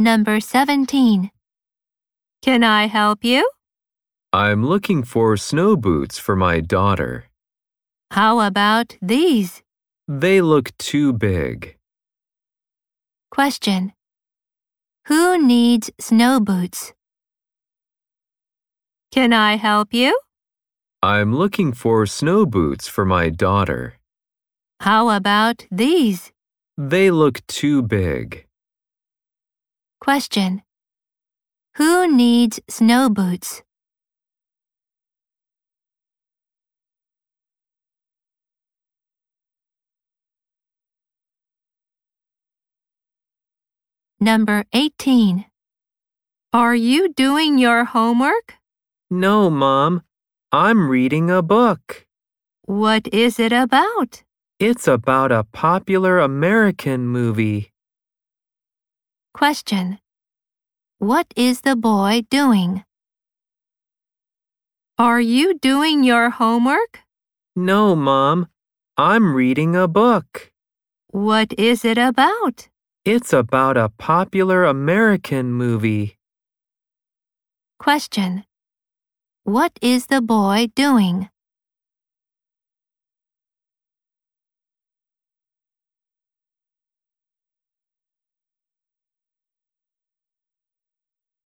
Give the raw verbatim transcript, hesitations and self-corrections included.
Number seventeen. Can I help you? I'm looking for snow boots for my daughter. How about these? They look too big. Question. Who needs snow boots? Can I help you? I'm looking for snow boots for my daughter. How about these? They look too big. Question. Who needs snow boots? Number eighteen. Are you doing your homework? No, Mom. I'm reading a book. What is it about? It's about a popular American movie. Question. What is the boy doing? Are you doing your homework? No, Mom. I'm reading a book. What is it about? It's about a popular American movie. Question. What is the boy doing?